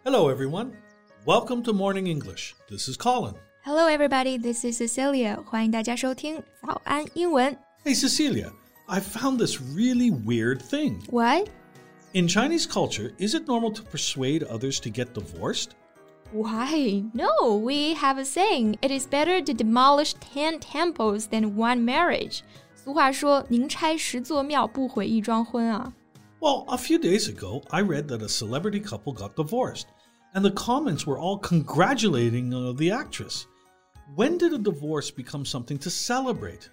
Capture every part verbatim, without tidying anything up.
Hello, everyone. Welcome to Morning English. This is Colin. Hello, everybody. This is Cecilia. 欢迎大家收听早安英文。 Hey, Cecilia, I found this really weird thing. What? In Chinese culture, is it normal to persuade others to get divorced? Why? No, we have a saying. It is better to demolish ten temples than one marriage. 俗话说，宁拆十座庙，不毁一桩婚啊。 Well, a few days ago, I read that a celebrity couple got divorced, and the comments were all congratulating uh, the actress. When did a divorce become something to celebrate?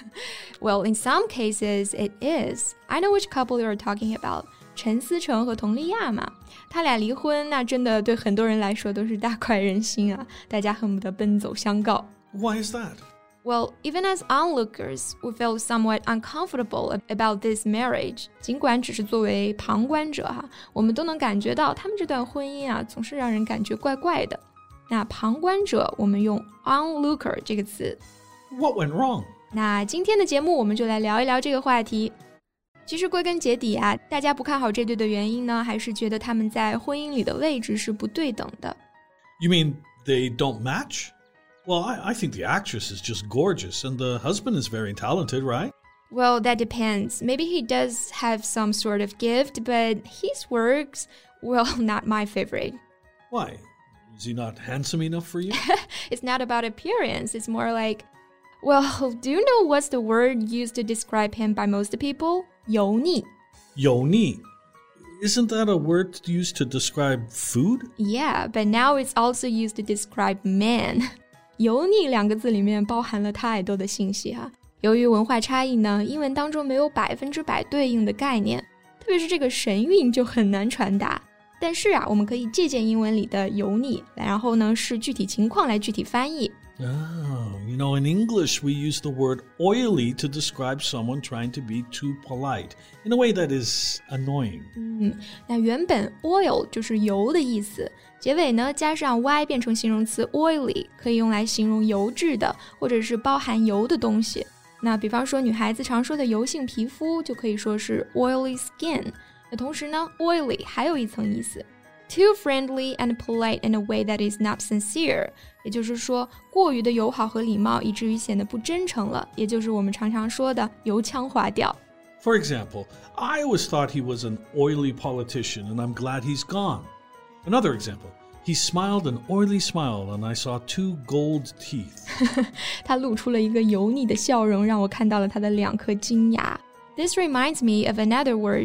Well, in some cases, it is. I know which couple you are talking about. 陈思诚和佟丽娅嘛，他俩离婚，那真的对很多人来说都是大快人心啊，大家恨不得奔走相告。 Why is that? Well, even as onlookers, we feel somewhat uncomfortable about this marriage. 尽管只是作为旁观者哈，我们都能感觉到他们这段婚姻啊，总是让人感觉怪怪的。那旁观者，我们用 onlooker 这个词。 What went wrong? 那今天的节目，我们就来聊一聊这个话题。其实归根结底啊，大家不看好这对的原因呢，还是觉得他们在婚姻里的位置是不对等的。 You mean they don't match?Well, I, I think the actress is just gorgeous, and the husband is very talented, right? Well, that depends. Maybe he does have some sort of gift, but his works, well, not my favorite. Why? Is he not handsome enough for you? It's not about appearance. It's more like, well, do you know what's the word used to describe him by most people? 油腻. Yoni. Isn't that a word used to describe food? Yeah, but now it's also used to describe men.油腻两个字里面包含了太多的信息哈、啊。由于文化差异呢，英文当中没有百分之百对应的概念，特别是这个神韵就很难传达。但是啊，我们可以借鉴英文里的油腻，然后呢视具体情况来具体翻译。 Oh, you know, in English we use the word oily to describe someone trying to be too polite in a way that is annoying. 嗯，那原本 oil 就是油的意思，结尾呢加上 y 变成形容词 oily， 可以用来形容油质的或者是包含油的东西。那比方说女孩子常说的油性皮肤就可以说是 oily skin。那同时呢 oily 还有一层意思，too friendly and polite in a way that is not sincere， 也就是说过于的友好和礼貌以至于显得不真诚了，也就是我们常常说的油腔滑调。 For example, I always thought he was an oily politician and I'm glad he's gone. Another example, he smiled an oily smile and I saw two gold teeth. 他露出了一个油腻的笑容，让我看到了他的两颗金牙。 This reminds me of another word,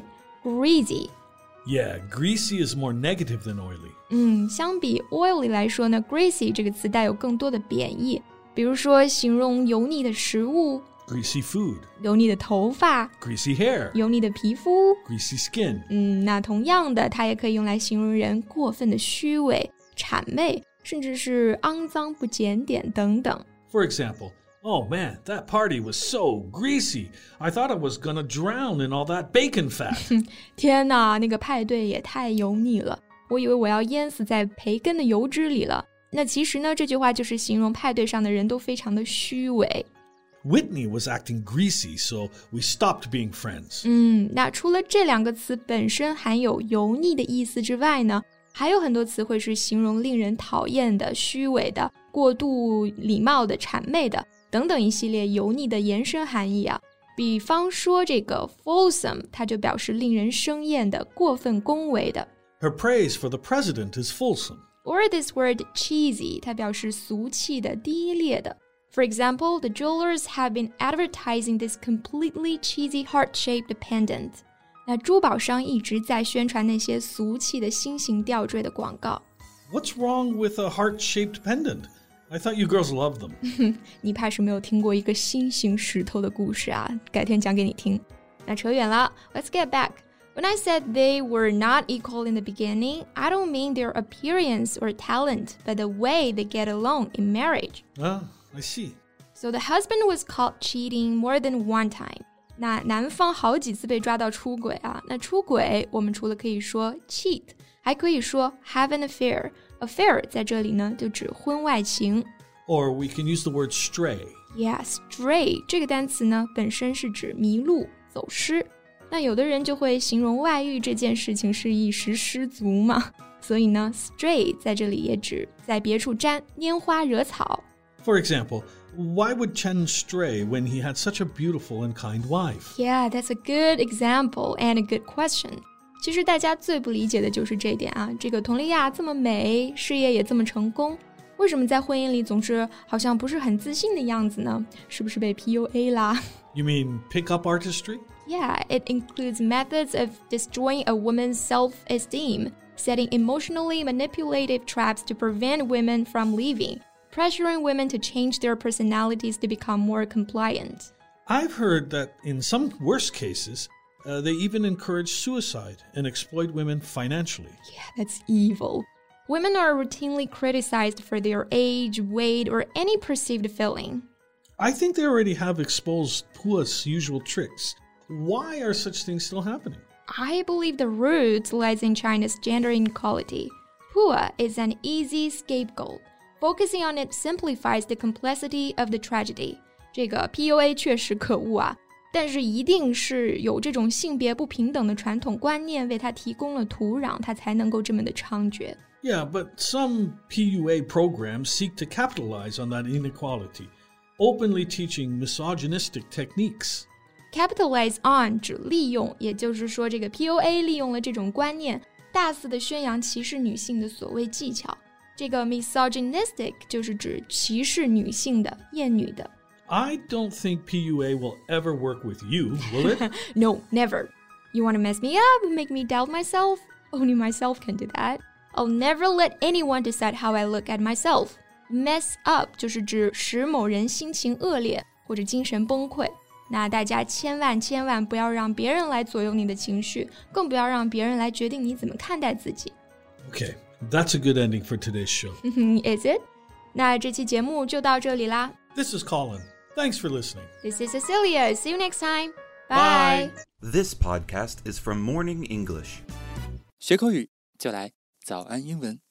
greasy.Yeah, greasy is more negative than oily. 嗯，相比 oily 来说呢 greasy 这个词带有更多的贬义，比如说形容油腻的食物 greasy food, 油腻的头发 greasy hair, 油腻的皮肤 greasy skin. 嗯，那同样的它也可以用来形容人过分的虚伪、谄媚，甚至是肮脏不检点等等。 For example,Oh man, that party was so greasy. I thought I was gonna drown in all that bacon fat. 天哪，那个派对也太油腻了，我以为我要淹死在培根的油脂里了。那其实呢，这句话就是形容派对上的人都非常的虚伪。 Whitney was acting greasy, so we stopped being friends. 嗯，那除了这两个词本身含有油腻的意思之外呢，还有很多词汇是形容令人讨厌的、虚伪的、过度礼貌的、谄媚的等等一系列油腻的延伸含义啊。比方说这个 fulsome， 它就表示令人生厌的、过分恭维的。 Her praise for the president is fulsome. Or this word cheesy， 它表示俗气的、低劣的。For example, the jewelers have been advertising this completely cheesy heart-shaped pendant. 那珠宝商一直在宣传那些俗气的心形吊坠的广告。 What's wrong with a heart-shaped pendant?I thought you girls loved them. 你怕是没有听过一个心形石头的故事啊，改天讲给你听。那扯远了 Let's get back. When I said they were not equal in the beginning, I don't mean their appearance or talent, but the way they get along in marriage. Ah, I see. So the husband was caught cheating more than one time. 那男方好几次被抓到出轨啊，那出轨我们除了可以说 cheat， 还可以说 have an affair。Affair 在这里呢就指婚外情。 Or we can use the word stray. Yeah, stray 这个单词呢本身是指迷路、走失。 那有的人就会形容外遇这件事情是一时失足嘛，所以呢 stray 在这里也指在别处沾拈花惹草。 For example, why would Chen stray when he had such a beautiful and kind wife? Yeah, that's a good example and a good question. 其实大家最不理解的就是这点啊，这个佟丽娅这么美，事业也这么成功，为什么在婚姻里总是好像不是很自信的样子呢？是不是被 P U A 啦？ You mean pick-up artistry? Yeah, it includes methods of destroying a woman's self-esteem, setting emotionally manipulative traps to prevent women from leaving, pressuring women to change their personalities to become more compliant. I've heard that in some worst cases, uh, they even encourage suicide and exploit women financially. Yeah, that's evil. Women are routinely criticized for their age, weight, or any perceived feeling. I think they already have exposed Pua's usual tricks. Why are such things still happening? I believe the root lies in China's gender inequality. Pua is an easy scapegoat. Focusing on it simplifies the complexity of the tragedy. 这个 P U A 确实可恶啊，但是一定是有这种性别不平等的传统观念为它提供了土壤，它才能够这么的猖獗。 Yeah, but some P U A programs seek to capitalize on that inequality, openly teaching misogynistic techniques. Capitalize on 指利用，也就是说这个 P U A 利用了这种观念，大肆的宣扬歧视女性的所谓技巧。这个 misogynistic 就是指歧视女性的、厌女的。 I don't think P U A will ever work with you, will it? No, never. You want to mess me up, make me doubt myself? Only myself can do that. I'll never let anyone decide how I look at myself. Mess up 就是指使某人心情恶劣或者精神崩溃。那大家千万千万不要让别人来左右你的情绪，更不要让别人来决定你怎么看待自己。 Okay, that's a good ending for today's show. Is it? 那这期节目就到这里啦。 This is Colin. Thanks for listening. This is Cecilia. See you next time. Bye. Bye. This podcast is from Morning English. 学口语就来早安英文。